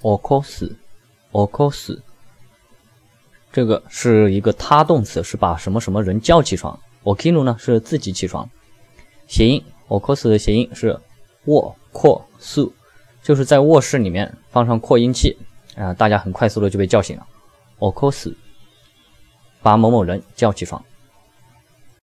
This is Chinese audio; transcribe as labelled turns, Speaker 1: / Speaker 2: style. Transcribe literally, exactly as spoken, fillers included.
Speaker 1: 起こす，起こす，这个是一个他动词，是把什么什么人叫起床。起きる呢是自己起床。谐音起こす的谐音是卧扩素，就是在卧室里面放上扩音器，啊、呃，大家很快速的就被叫醒了。起こす，把某某人叫起床。